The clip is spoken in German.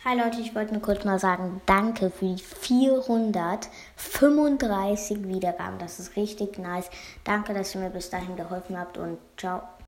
Hi Leute, ich wollte nur kurz mal sagen, danke für die 435 Wiedergaben. Das ist richtig nice. Danke, dass ihr mir bis dahin geholfen habt und ciao.